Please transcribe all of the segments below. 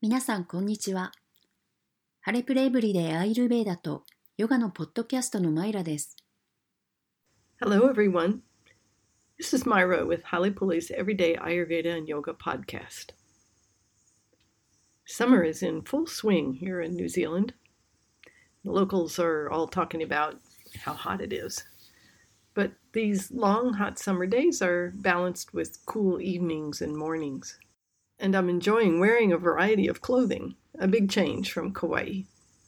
皆さんこんにちは。ハレプレイブリでアイルベーダとヨガのポッドキャストのマイラです。 Hello, everyone. This is Myra with Halepule's Everyday Ayurveda and Yoga podcast. Summer is in full swing here in New Zealand. The locals are all talking about how hot it is. But these long, hot summer days are balanced with cool evenings and mornings. And I'm enjoying wearing a variety of clothing, a big change from Kauai.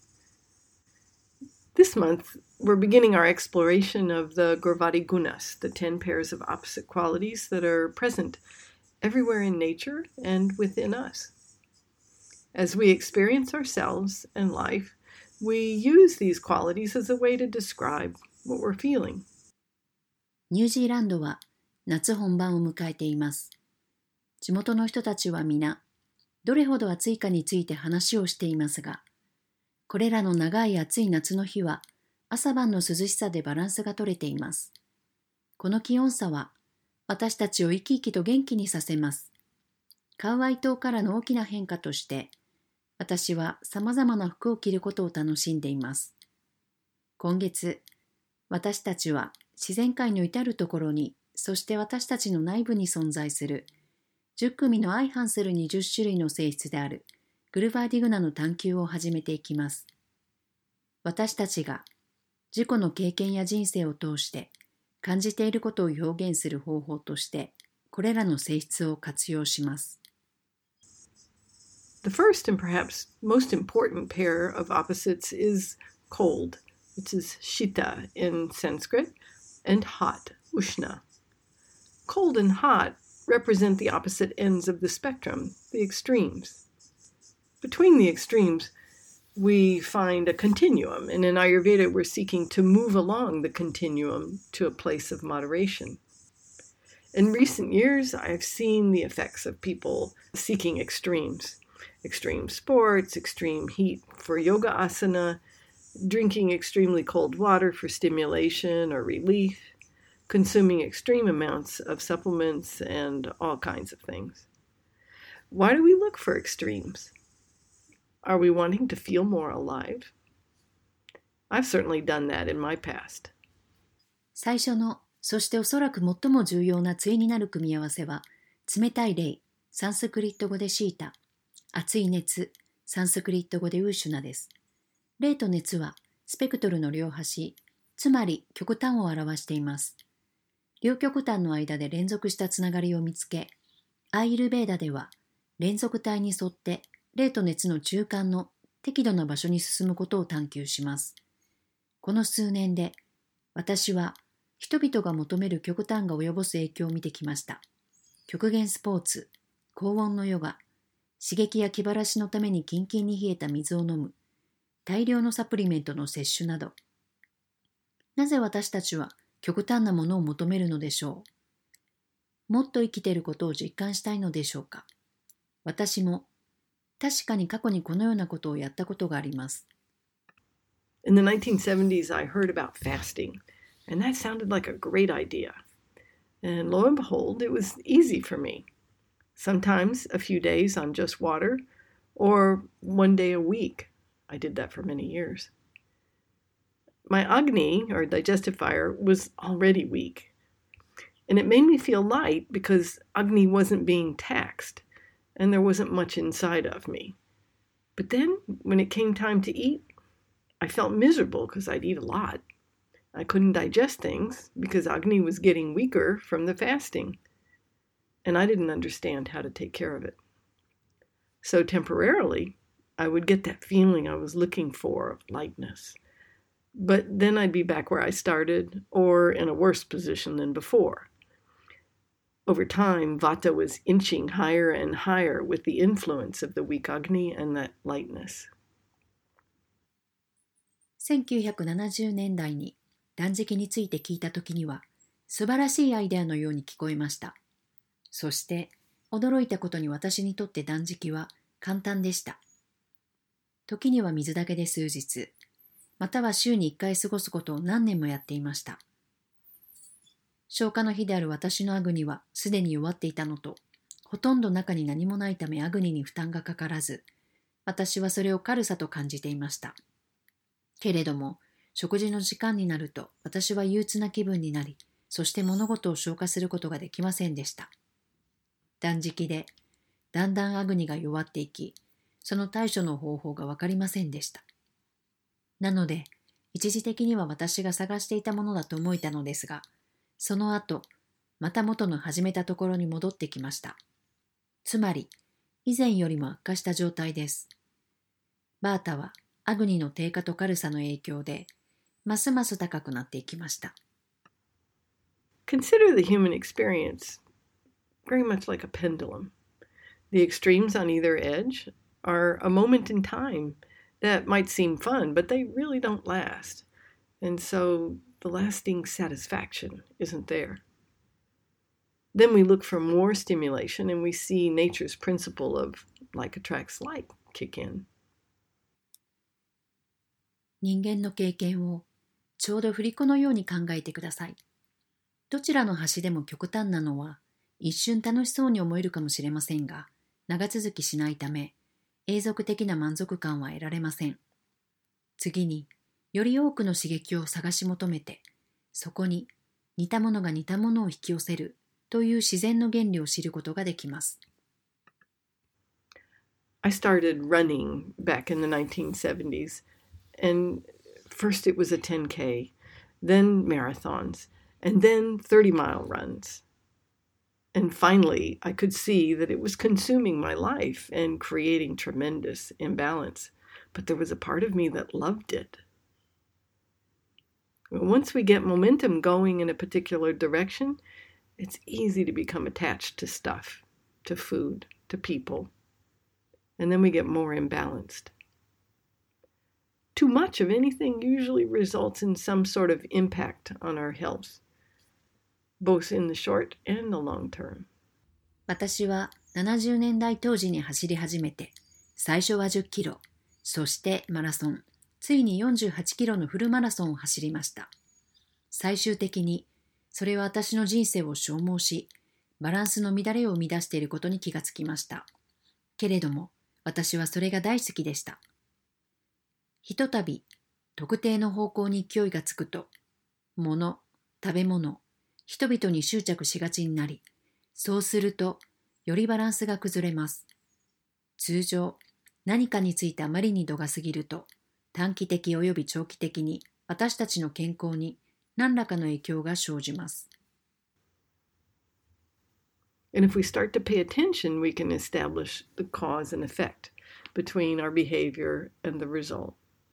This month, we're beginning our exploration of the Gurvadi Gunas, the 10 pairs of opposite qualities that are present everywhere in nature and within us. As we experience ourselves and life, we use these qualities as a way to describe what we're feeling. ニュージーランドは夏本番を迎えています。地元の人たちは皆、どれほど暑いかについて話をしていますが、これらの長い暑い夏の日は朝晩の涼しさでバランスが取れています。この気温差は私たちを生き生きと元気にさせます。カウアイ島からの大きな変化として、私は様々な服を着ることを楽しんでいます。今月、私たちは自然界の至るところに、そして私たちの内部に存在する10組の相反する20種類の性質であるグルバーディグナの探求を始めていきます。私たちが自己の経験や人生を通して感じていることを表現する方法として、これらの性質を活用します。 The first and perhaps most important pair of opposites is cold, which is shita in Sanskrit, and hot, ushna. Cold and hot represent the opposite ends of the spectrum, the extremes. Between the extremes, we find a continuum, and in Ayurveda, we're seeking to move along the continuum to a place of moderation. In recent years, I've seen the effects of people seeking extremes. Extreme sports, extreme heat for yoga asana, drinking extremely cold water for stimulation or relief, consuming extreme amounts of supplements and all kinds of things. Why do we look for extremes? Are we wanting to feel more alive? I've certainly done that in my past. 最初の、そしておそらく最も重要な対になる組み合わせは、冷たい霊、サンスクリット語でシータ、熱い熱、サンスクリット語でウーシュナです。霊と熱はスペクトルの両端、つまり極端を表しています。両極端の間で連続したつながりを見つけ、アーユルベーダでは連続体に沿って霊と熱の中間の適度な場所に進むことを探求します。この数年で私は人々が求める極端が及ぼす影響を見てきました。極限スポーツ、高温のヨガ、刺激や気晴らしのためにキンキンに冷えた水を飲む、大量のサプリメントの摂取など。なぜ私たちは極端なものを求めるのでしょう。もっと生きていることを実感したいのでしょうか。私も確かに過去にこのようなことをやったことがあります。 In the 1970s, I heard about fasting, and that sounded like a great idea. And lo and behold, it was easy for me. Sometimes a few days on just water, or one day a week. I did that for many years. My Agni, or digestive fire, was already weak. And it made me feel light because Agni wasn't being taxed, and there wasn't much inside of me. But then, when it came time to eat, I felt miserable because I'd eat a lot. I couldn't digest things because Agni was getting weaker from the fasting, and I didn't understand how to take care of it. So temporarily, I would get that feeling I was looking for of lightness. But then I'd be back where I started, or in a worse position than before. Over time, Vata was inching higher and higher with the influence of the weak Agni and that lightness. 1970年代に断食について聞いたときには、素晴らしいアイデアのように聞こえました。そして、驚いたことに私にとって断食は簡単でした。時には水だけで数日、または週に1回過ごすことを何年もやっていました。消化の日である私のアグニはすでに弱っていたのと、ほとんど中に何もないためアグニに負担がかからず、 私はそれを軽さと感じていました。けれども、食事の時間になると私は憂鬱な気分になり、そして物事を消化することができませんでした。断食で、だんだんアグニが弱っていき、その対処の方法がわかりませんでした。なので、一時的には私が探していたものだと思えたのですが、その後、また元の始めたところに戻ってきました。つまり、以前よりも悪化した状態です。バータはアグニの低下と軽さの影響で、ますます高くなっていきました。 Consider the human experience very much like a pendulum. The extremes on either edge are a moment in time that might seem fun, but they really don't last. And so the lasting satisfaction isn't there. Then we look for more stimulation and we see nature's principle of like attracts like kick in. 人間の経験をちょうど振り子のように考えてください。どちらの端でも極端なのは一瞬楽しそうに思えるかもしれませんが、長続きしないため永続的な満足感は得られません。次により多くの刺激を探し求めて、そこに似たものが似たものを引き寄せるという自然の原理を知ることができます。 I started running back in the 1970s, and first it was a 10K, then marathons, and then 30-mile runs. And finally, I could see that it was consuming my life and creating tremendous imbalance. But there was a part of me that loved it. Once we get momentum going in a particular direction, it's easy to become attached to stuff, to food, to people. And then we get more imbalanced. Too much of anything usually results in some sort of impact on our health, both in the short and the long term. 私は70年代当時に走り始めて、最初は10キロ、そしてマラソン、ついに48キロのフルマラソンを走りました。最終的に、それは私の人生を消耗し、バランスの乱れを生み出していることに気がつきました。けれども、私はそれが大好きでした。ひとたび、特定の方向に勢いがつくと、物、食べ物、人々に執着しがちになり、そうすると、よりバランスが崩れます。通常、何かについてあまりに度が過ぎると、短期的及び長期的に私たちの健康に何らかの影響が生じます。 And if we start to pay attention, we can establish the cause and effect between our behavior and the result.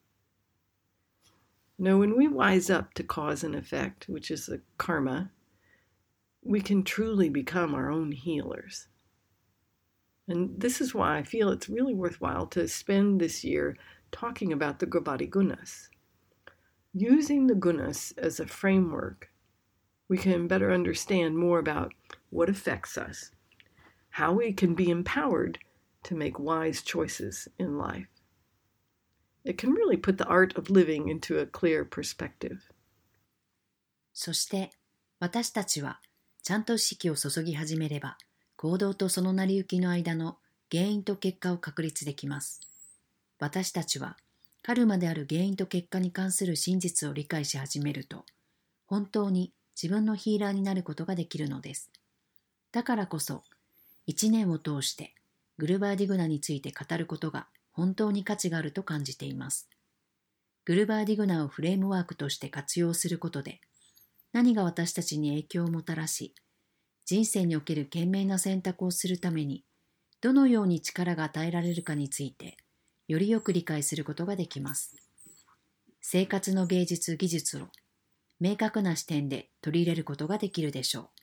Now, when we wise up to cause and effect, which is the karma, we can truly become our own healers. And this is why I feel it's really worthwhile to spend this year talking about the Gravati Gunas. Using the Gunas as a framework, we can better understand more about what affects us, how we can be empowered to make wise choices in life. It can really put the art of living into a clear perspective. そして私たちはちゃんと意識を注ぎ始めれば、行動とその成り行きの間の原因と結果を確立できます。私たちはカルマである原因と結果に関する真実を理解し始めると、本当に自分のヒーラーになることができるのです。だからこそ、1年を通してグルバーディグナについて語ることが本当に価値があると感じています。グルバーディグナをフレームワークとして活用することで、何が私たちに影響をもたらし、人生における賢明な選択をするために、どのように力が与えられるかについて、よりよく理解することができます。生活の芸術・技術を明確な視点で取り入れることができるでしょ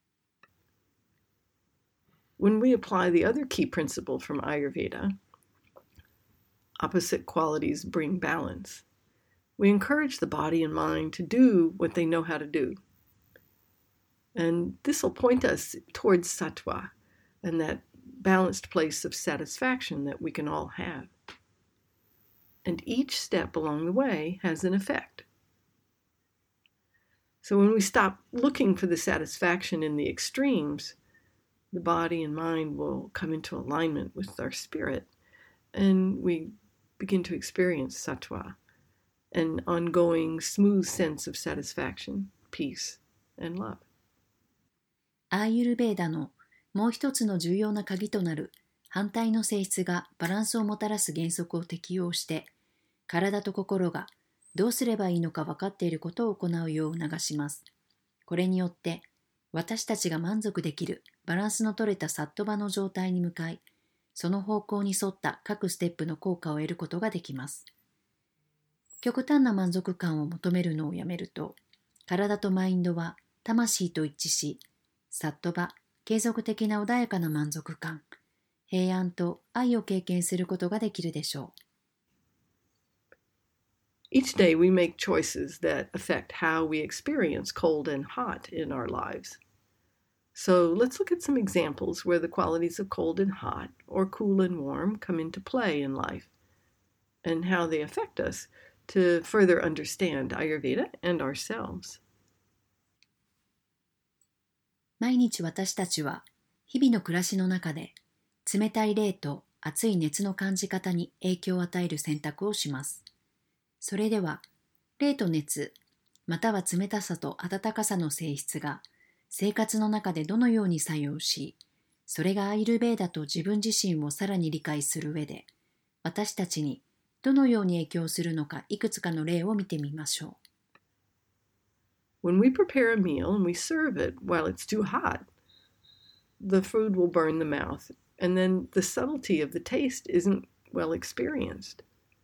う。When we apply the other key principle from Ayurveda, opposite qualities bring balance. We encourage the body and mind to do what they know how to do. And this will point us towards sattva and that balanced place of satisfaction that we can all have. And each step along the way has an effect. So when we stop looking for the satisfaction in the extremes, the body and mind will come into alignment with our spirit, and we begin to experience sattva, an ongoing smooth sense of satisfaction, peace, and love. アーユルベーダのもう一つの重要な鍵となる反対の性質がバランスをもたらす原則を適用して、体と心がどうすればいいのか分かっていることを行うよう促します。これによって私たちが満足できるバランスの取れたサットバの状態に向かい、その方向に沿った各ステップの効果を得ることができます。極端な満足感を求めるのをやめると、体とマインドは魂と一致し、サットバ、継続的な穏やかな満足感、平安と愛を経験することができるでしょう。 Each day we make choices that affect how we experience cold and hot in our lives. So let's look at some examples where the qualities of cold and hot, or cool and warm, come into play in life, and how they affect us to further understand Ayurveda and ourselves. 毎日私たちは日々の暮らしの中で冷たい冷と熱い熱の感じ方に影響を与える選択をします。それでは、冷と熱、または冷たさと温かさの性質が生活の中でどのように作用し、それがアイルベーダと自分自身をさらに理解する上で、私たちにどのように影響するのかいくつかの例を見てみましょう。When we prepare a meal and we serve it while it's too hot, the food will burn the mouth, and then the subtlety of the taste isn't well experienced.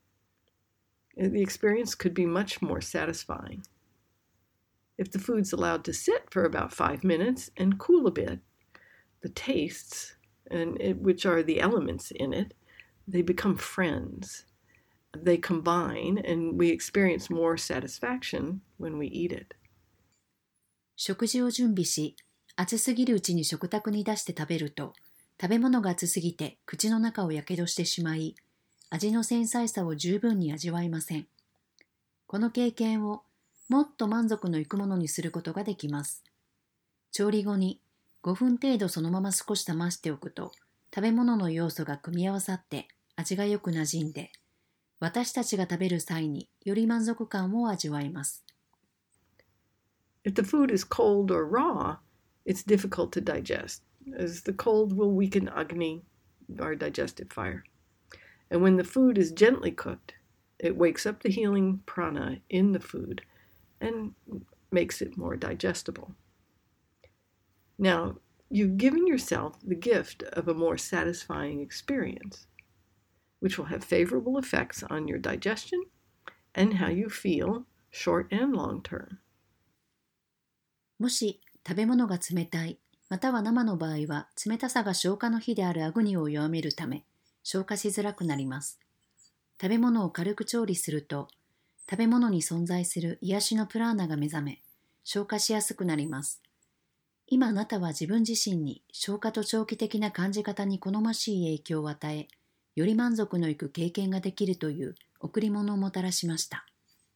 The experience could be much more satisfying. If the food's allowed to sit for about 5 minutes and cool a bit, the tastes, which are the elements in it, they become friends. They combine, and we experience more satisfaction when we eat it. 食事を準備し、熱すぎるうちに食卓に出して食べると、食べ物が熱すぎて口の中をやけどしてしまい、味の繊細さを十分に味わえません。この経験をもっと満足のいくものにすることができます。調理後に5分程度そのまま少し冷ましておくと、食べ物の要素が組み合わさって味がよくなじんで、私たちが食べる際により満足感を味わえます。 If the food is cold or raw, it's difficult to digest, as the cold will weaken Agni, our digestive fire. And when the food is gently cooked, it wakes up the healing prana in the food and makes it more digestible. Now, you've given yourself the gift of a more satisfying experience, which will have favorable effects on your digestion and how you feel short and long term. もし食べ物が冷たい、または生の場合は冷たさが消化の火であるアグニを弱めるため、消化しづらくなります。食べ物を軽く調理すると、食べ物に存在する癒しのプラーナが目覚め、消化しやすくなります。今あなたは自分自身に消化と長期的な感じ方に好ましい影響を与え、より満足のいく経験ができるという贈り物をもたらしました。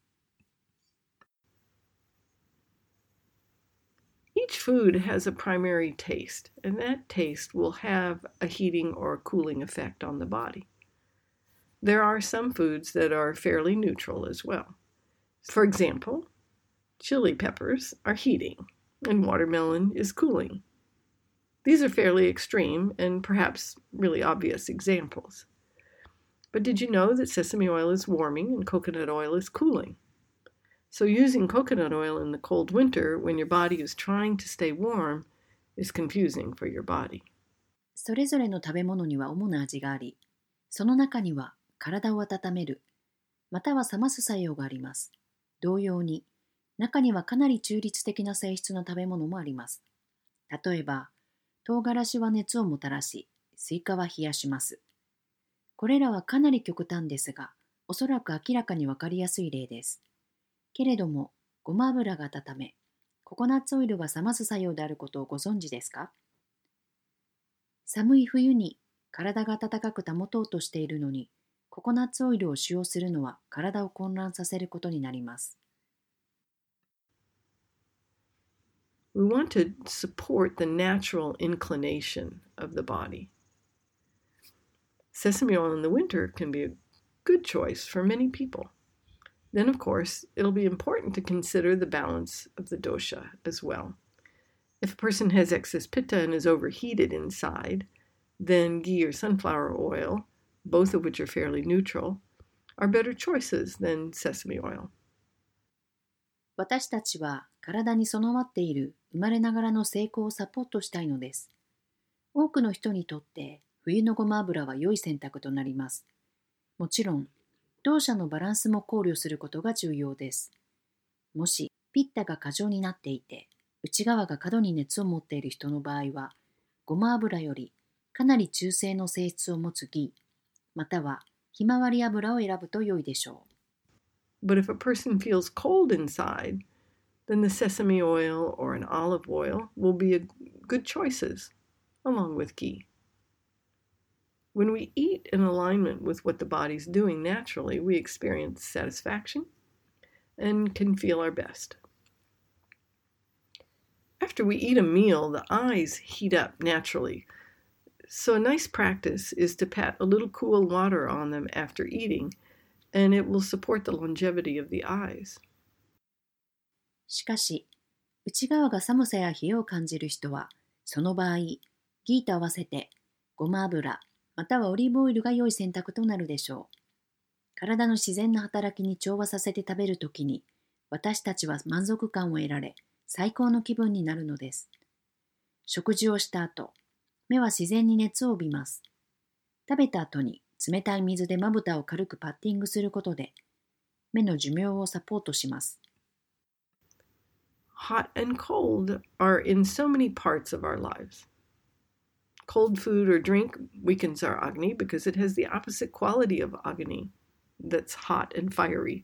Each food has a primary taste, and that taste will have a heating or cooling effect on the body. There are some foods that are fairly neutral as well. For example, chili peppers are heating, and watermelon is cooling. These are fairly extreme and perhaps really obvious examples. But did you know that sesame oil is warming and coconut oil is cooling? So using coconut oil in the cold winter when your body is trying to stay warm is confusing for your body. それぞれの食べ物には主な味があり、その中には体を温める、または冷ます作用があります。同様に、中にはかなり中立的な性質の食べ物もあります。例えば、唐辛子は熱をもたらし、スイカは冷やします。これらはかなり極端ですが、おそらく明らかにわかりやすい例です。けれども、ごま油が温め、ココナッツオイルが冷ます作用であることをご存知ですか？寒い冬に体が温かく保とうとしているのに、ココナッツオイルを使用するのは体を混乱させることになります。 We want to support the natural inclination of the body. Sesame oil in the winter can be a good choice for many people. Then, of course, it'll be important to consider the balance of the dosha as well. If a person has excess pitta and is overheated inside, then ghee or sunflower oil, both of which are fairly neutral, are better choices than sesame oil. 私たちは体に備わっている生まれながらの成功をサポートしたいのです。多くの人にとって冬のごま油は良い選択となります。もちろん、同社のバランスも考慮することが重要です。もしピッタが過剰になっていて、内側が過度に熱を持っている人の場合は、ごま油よりかなり中性の性質を持つギー、またはひまわり油を選ぶと良いでしょう。But if a person feels cold inside, then the sesame oil or an olive oil will be good choices, along with ghee. When we eat in alignment with what the body's doing naturally, we experience satisfaction and can feel our best. After we eat a meal, the eyes heat up naturally. So a nice practice is to pat a little cool water on them after eating, and it will support the longevity of the eyes. しかし、内側が寒さや冷えを感じる人は、その場合、ギーと合わせてごま油、またはオリーブオイルが良い選択となるでしょう。体の自然な働きに調和させて食べるときに、私たちは満足感を得られ、最高の気分になるのです。食事をした後、目は自然に熱を帯びます。食べた後に冷たい水でまぶたを軽くパッティングすることで、目の寿命をサポートします。 Hot and cold are in so many parts of our lives. Cold food or drink weakens our Agni because it has the opposite quality of Agni that's hot and fiery.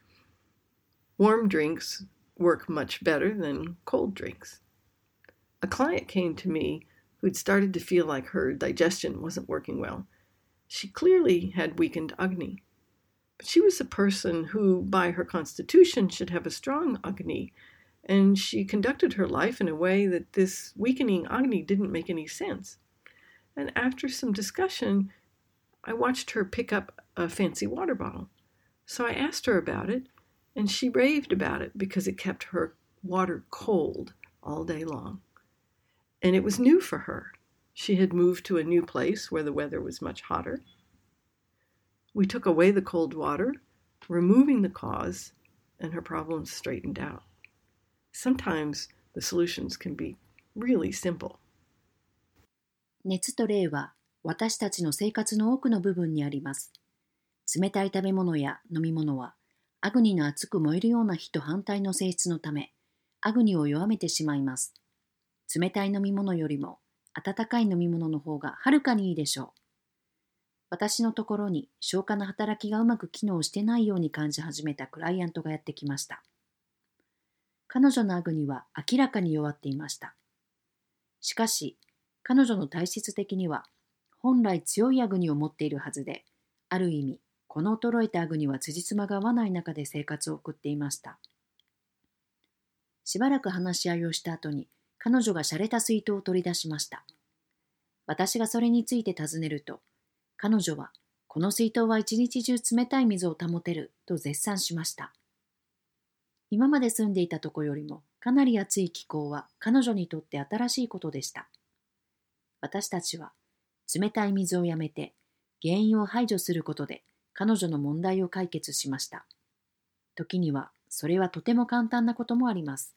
Warm drinks work much better than cold drinks. A client came to me who'd started to feel like her digestion wasn't working well. She clearly had weakened Agni. But she was a person who, by her constitution, should have a strong Agni, and she conducted her life in a way that this weakening Agni didn't make any sense. And after some discussion, I watched her pick up a fancy water bottle. So I asked her about it, and she raved about it because it kept her water cold all day long. And it was new for her. She had moved to a new place where the weather was much hotter. We took away the cold water, removing the cause, and her problems straightened out. Sometimes the solutions can be really simple. 熱と冷は私たちの生活の多くの部分にあります。冷たい食べ物や飲み物はアグニの熱く燃えるような火と反対の性質のため、アグニを弱めてしまいます。冷たい飲み物よりも温かい飲み物の方がはるかにいいでしょう。私のところに消化の働きがうまく機能してないように感じ始めたクライアントがやってきました。彼女のアグニは明らかに弱っていました。しかし、彼女の体質的には本来強いアグニを持っているはずで、ある意味、この衰えたアグニは辻褄が合わない中で生活を送っていました。しばらく話し合いをした後に、彼女が洒落た水筒を取り出しました。私がそれについて尋ねると、彼女は、この水筒は一日中冷たい水を保てると絶賛しました。今まで住んでいたとこよりもかなり暑い気候は彼女にとって新しいことでした。私たちは冷たい水をやめて原因を排除することで彼女の問題を解決しました。時にはそれはとても簡単なこともあります。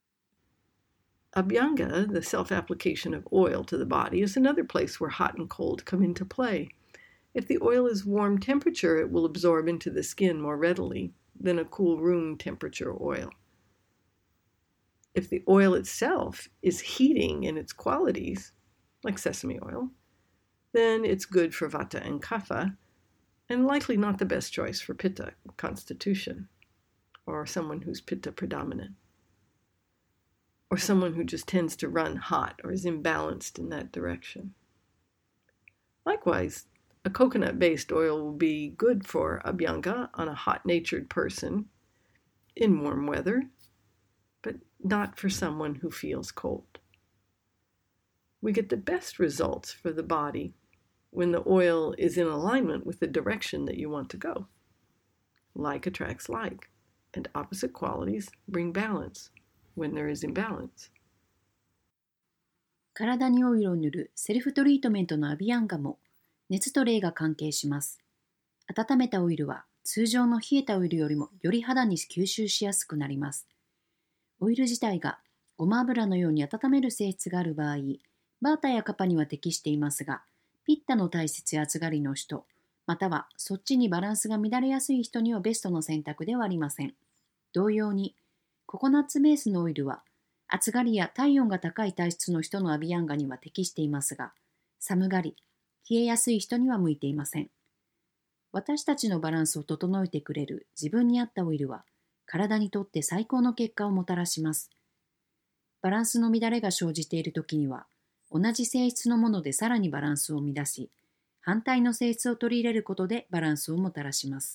Abhyanga, the self-application of oil to the body, is another place where hot and cold come into play. If the oil is warm temperature, it will absorb into the skin more readily than a cool room temperature oil. If the oil itself is heating in its qualities, like sesame oil, then it's good for vata and kapha, and likely not the best choice for pitta constitution, or someone who's pitta predominant, or someone who just tends to run hot or is imbalanced in that direction. Likewise, a coconut-based oil will be good for abhyanga on a hot-natured person in warm weather, but not for someone who feels cold. We get the best results for the body when the oil is in alignment with the direction that you want to go. Like attracts like, and opposite qualities bring balance when there is imbalance. 体にオイルを塗るセルフトリートメントのアビアンガも熱と冷が関係します。温めたオイルは通常の冷えたオイルよりもより肌に吸収しやすくなります。オイル自体がごま油のように温める性質がある場合、バータやカパには適していますが、ピッタの体質や暑がりの人、またはそっちにバランスが乱れやすい人にはベストの選択ではありません。同様に、ココナッツベースのオイルは、暑がりや体温が高い体質の人のアビアンガには適していますが、寒がり、冷えやすい人には向いていません。私たちのバランスを整えてくれる自分に合ったオイルは、体にとって最高の結果をもたらします。バランスの乱れが生じているときには、同じ性質のものでさらにバランスを乱し、反対の性質を取り入れることでバランスをもたらします。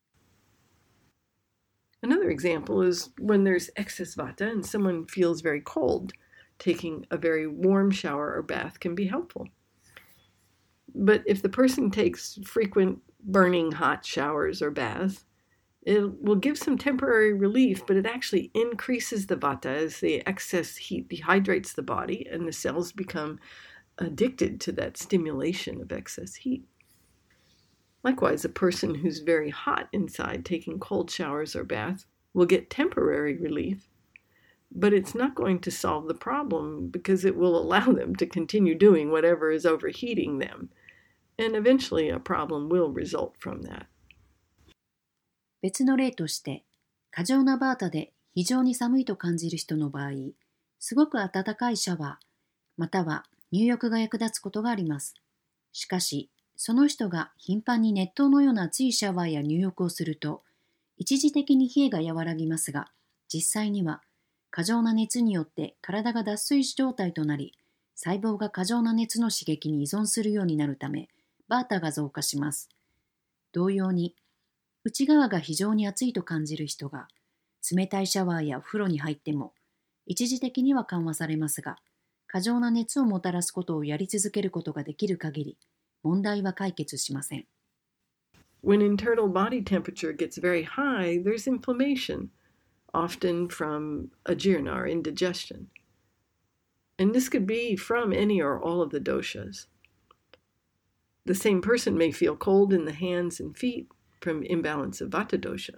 Another example is when there's excess vata and someone feels very cold, taking a very warm shower or bath can be helpful. But if the person takes frequent burning hot showers or baths, it will give some temporary relief, but it actually increases the vata as the excess heat dehydrates the body and the cells become addicted to that stimulation of excess heat. Likewise, a person who's very hot inside taking cold showers or baths will get temporary relief, but it's not going to solve the problem because it will allow them to continue doing whatever is overheating them, and eventually a problem will result from that. 別の例として、過剰なバータで非常に寒いと感じる人の場合、すごく暖かいシャワー、または入浴が役立つことがあります。しかし、その人が頻繁に熱湯のような熱いシャワーや入浴をすると、一時的に冷えが和らぎますが、実際には過剰な熱によって体が脱水状態となり、細胞が過剰な熱の刺激に依存するようになるため、バータが増加します。同様に、内側が非常に熱いと感じる人が、冷たいシャワーやお風呂に入っても、一時的には緩和されますが、過剰な熱をもたらすことをやり続けることができる限り、問題は解決しません。 When internal body temperature gets very high, there's inflammation, often from ajirna or indigestion. And this could be from any or all of the doshas. The same person may feel cold in the hands and feet from imbalance of vata dosha.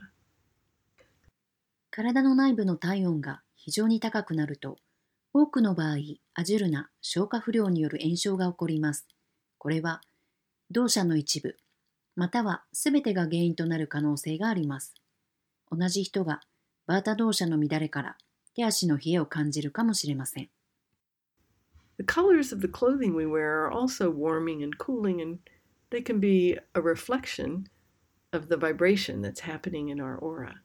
体の内部の体温が非常に高くなると、多くの場合、アジュルナ、消化不良による炎症が起こります。これは、ドーシャの一部、またはすべてが原因となる可能性があります。同じ人がバータドーシャの乱れから手足の冷えを感じるかもしれません。 The colors of the clothing we wear are also warming and cooling, and they can be a reflection of the vibration that's happening in our aura.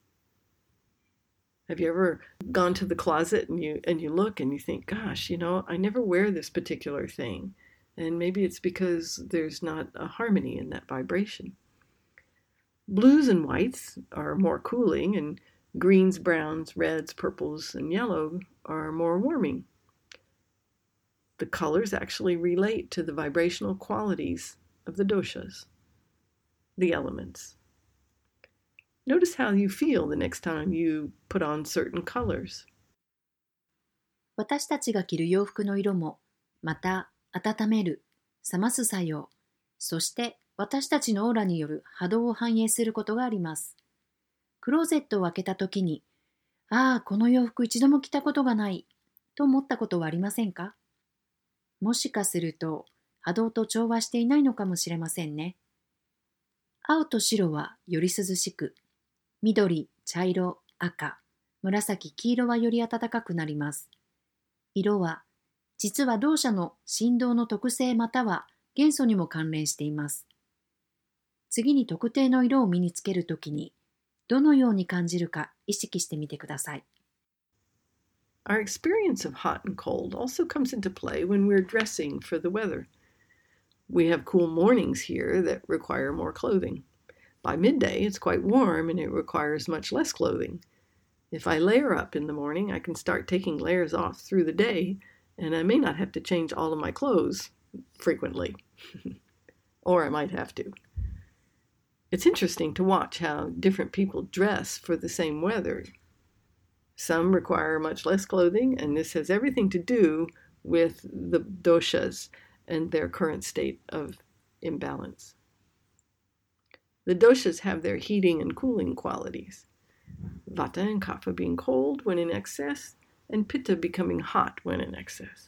Have you ever gone to the closet and you look and you think, gosh, I never wear this particular thing. And maybe it's because there's not a harmony in that vibration. Blues and whites are more cooling, and greens, browns, reds, purples, and yellow are more warming. The colors actually relate to the vibrational qualities of the doshas, the elements. Notice how you feel the next time you put on certain colors. 私たちが着る洋服の色も、また温める、冷ます作用、そして私たちのオーラによる波動を反映することがあります。クローゼットを開けたときに、ああ、この洋服一度も着たことがない、と思ったことはありませんか？もしかすると波動と調和していないのかもしれませんね。青と白はより涼しく、緑、茶色、赤、紫、黄色はより暖かくなります。色は実は同社の振動の特性または元素にも関連しています。次に特定の色を身につけるときに、どのように感じるか意識してみてください。 Our experience of hot and cold also comes into play when we're dressing for the weather. We have cool mornings here that require more clothing. By midday, it's quite warm and it requires much less clothing. If I layer up in the morning, I can start taking layers off through the day, and I may not have to change all of my clothes frequently. Or I might have to. It's interesting to watch how different people dress for the same weather. Some require much less clothing, and this has everything to do with the doshas and their current state of imbalance. The doshas have their heating and cooling qualities. Vata and Kapha being cold when in excess, and Pitta becoming hot when in excess.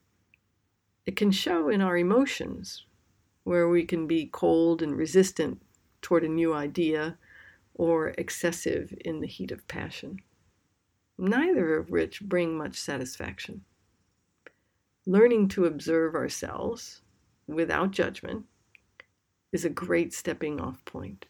It can show in our emotions, where we can be cold and resistant toward a new idea, or excessive in the heat of passion, neither of which bring much satisfaction. Learning to observe ourselves without judgment is a great stepping off point.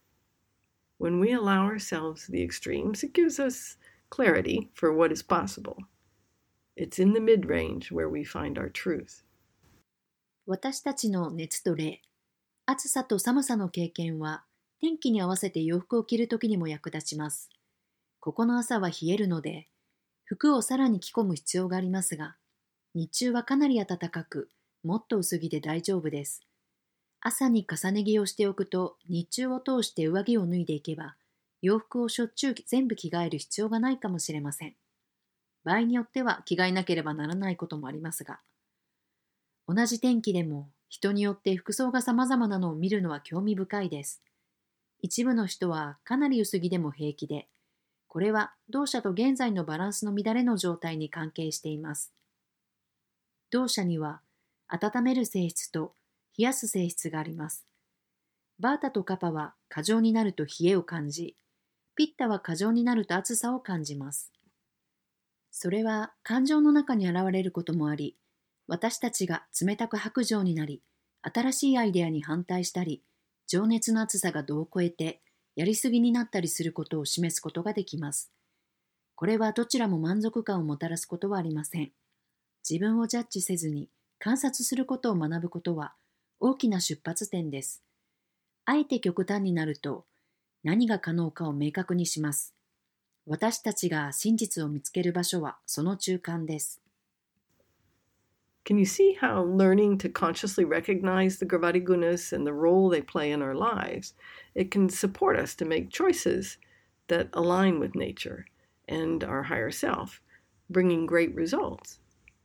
When we allow ourselves the extremes, it gives us clarity for what is possible. It's in the mid-range where we find our truth. 私たちの熱と冷、暑さと寒さの経験は、天気に合わせて洋服を着るときにも役立ちます。ここの朝は冷えるので、服をさらに着込む必要がありますが、日中はかなり暖かく、もっと薄着で大丈夫です。朝に重ね着をしておくと、日中を通して上着を脱いでいけば、洋服をしょっちゅう全部着替える必要がないかもしれません。場合によっては着替えなければならないこともありますが、同じ天気でも人によって服装が様々なのを見るのは興味深いです。一部の人はかなり薄着でも平気で、これは同社と現在のバランスの乱れの状態に関係しています。同社には温める性質と冷やす性質があります。バータとカパは過剰になると冷えを感じ、ピッタは過剰になると暑さを感じます。それは感情の中に現れることもあり、私たちが冷たく薄情になり、新しいアイデアに反対したり、情熱の熱さが度を超えて、やりすぎになったりすることを示すことができます。これはどちらも満足感をもたらすことはありません。自分をジャッジせずに観察することを学ぶことは大きな出発点です。あえて極端になると、何が可能かを明確にします。私たちが真実を見つける場所はその中間です。 Can you see how learning to consciously recognize the Gravati Gunas and the role they play in our lives, it can support us to make choices that align with nature and our higher self, bringing great results?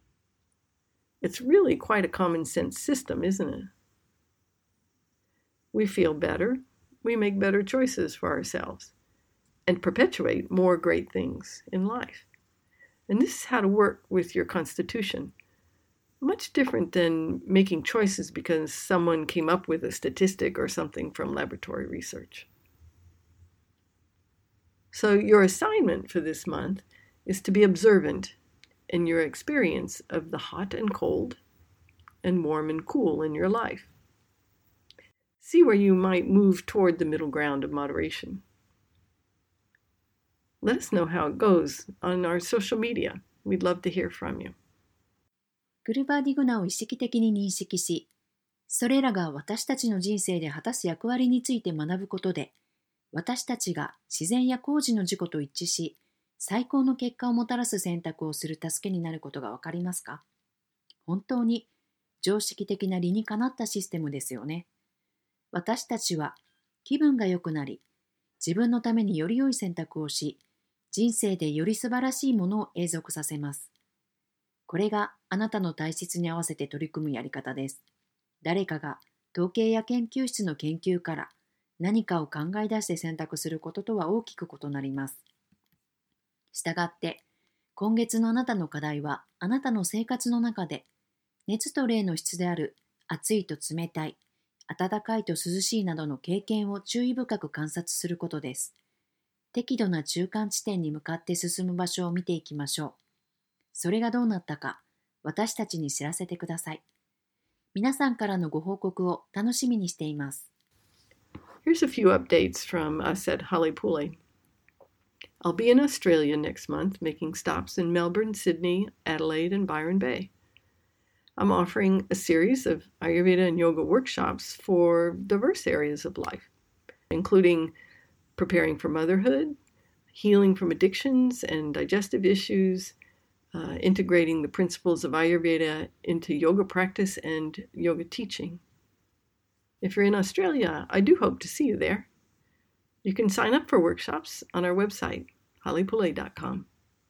It's really quite a common sense system, isn't it? We feel better, we make better choices for ourselves, and perpetuate more great things in life. And this is how to work with your constitution. Much different than making choices because someone came up with a statistic or something from laboratory research. So your assignment for this month is to be observant in your experience of the hot and cold and warm and cool in your life. See where you might move toward the middle ground of moderation. Let us know how it goes on our social media. We'd love to hear from you. グルバーディグナを意識的に認識し、それらが私たちの人生で果たす役割について学ぶことで、私たちが自然や工事の自己と一致し、最高の結果をもたらす選択をする助けになることがわかりますか？本当に常識的な理にかなったシステムですよね。私たちは気分が良くなり、自分のためにより良い選択をし、人生でより素晴らしいものを永続させます。これがあなたの体質に合わせて取り組むやり方です。誰かが統計や研究室の研究から何かを考え出して選択することとは大きく異なります。したがって、今月のあなたの課題はあなたの生活の中で熱と冷の質である暑いと冷たい、暖かいと涼しいなどの経験を注意深く観察することです。適度な中間地点に向かって進む場所を見ていきましょう。それがどうなったか、私たちに知らせてください。皆さんからのご報告を楽しみにしています。 Here's a few updates from us at Halepule. I'll be in Australia next month, making stops in Melbourne, Sydney, Adelaide, and Byron Bay. I'm offering a series of Ayurveda and yoga workshops for diverse areas of life, including preparing for motherhood, healing from addictions and digestive issues, integrating the principles of Ayurveda into yoga practice and yoga teaching. If you're in Australia, I do hope to see you there. You can sign up for workshops on our website, hollypoulet.com.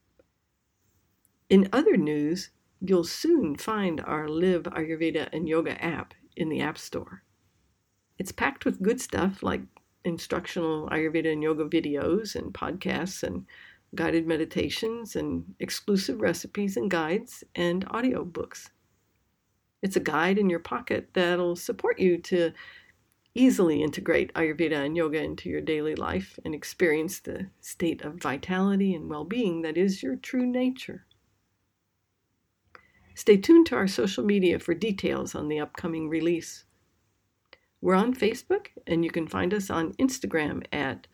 In other news, you'll soon find our Live Ayurveda and Yoga app in the App Store. It's packed with good stuff like instructional Ayurveda and yoga videos and podcasts and guided meditations and exclusive recipes and guides and audiobooks. It's a guide in your pocket that'll support you to easily integrate Ayurveda and yoga into your daily life and experience the state of vitality and well-being that is your true nature. Stay tuned to our social media for details on the upcoming release. We're on Facebook, and you can find us on Instagram at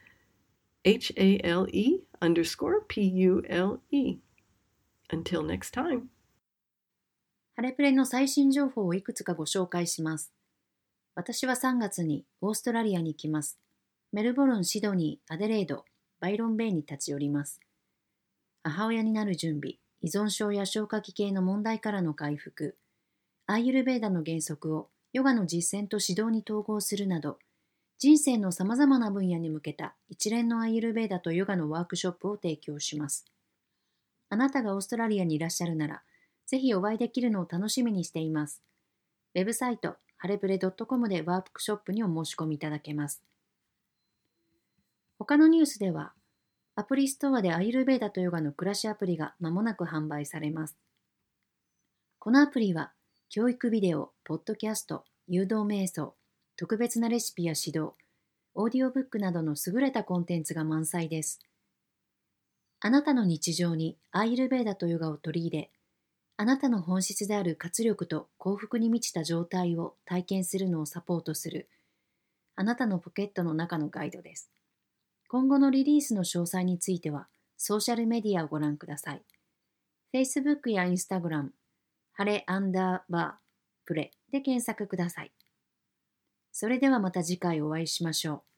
HALE_PULE. Until next time. ハレプレの最新情報をいくつかご紹介します。私は3月にオーストラリアに行きます。メルボルン、シドニー、アデレード、バイロンベイに立ち寄ります。母親になる準備、依存症や消化器系の問題からの回復、アーユルヴェーダの原則をヨガの実践と指導に統合するなど、人生のさまざまな分野に向けた一連のアーユルヴェーダとヨガのワークショップを提供します。あなたがオーストラリアにいらっしゃるなら、ぜひお会いできるのを楽しみにしています。ウェブサイト、ハレプレ .com でワークショップにお申し込みいただけます。他のニュースでは、アプリストアでアーユルヴェーダとヨガの暮らしアプリが間もなく販売されます。このアプリは、教育ビデオ、ポッドキャスト、誘導瞑想、特別なレシピや指導、オーディオブックなどの優れたコンテンツが満載です。あなたの日常にアーユルヴェーダとヨガを取り入れ、あなたの本質である活力と幸福に満ちた状態を体験するのをサポートする、あなたのポケットの中のガイドです。今後のリリースの詳細については、ソーシャルメディアをご覧ください。Facebook や Instagram、ハレ_プレで検索ください。それではまた次回お会いしましょう。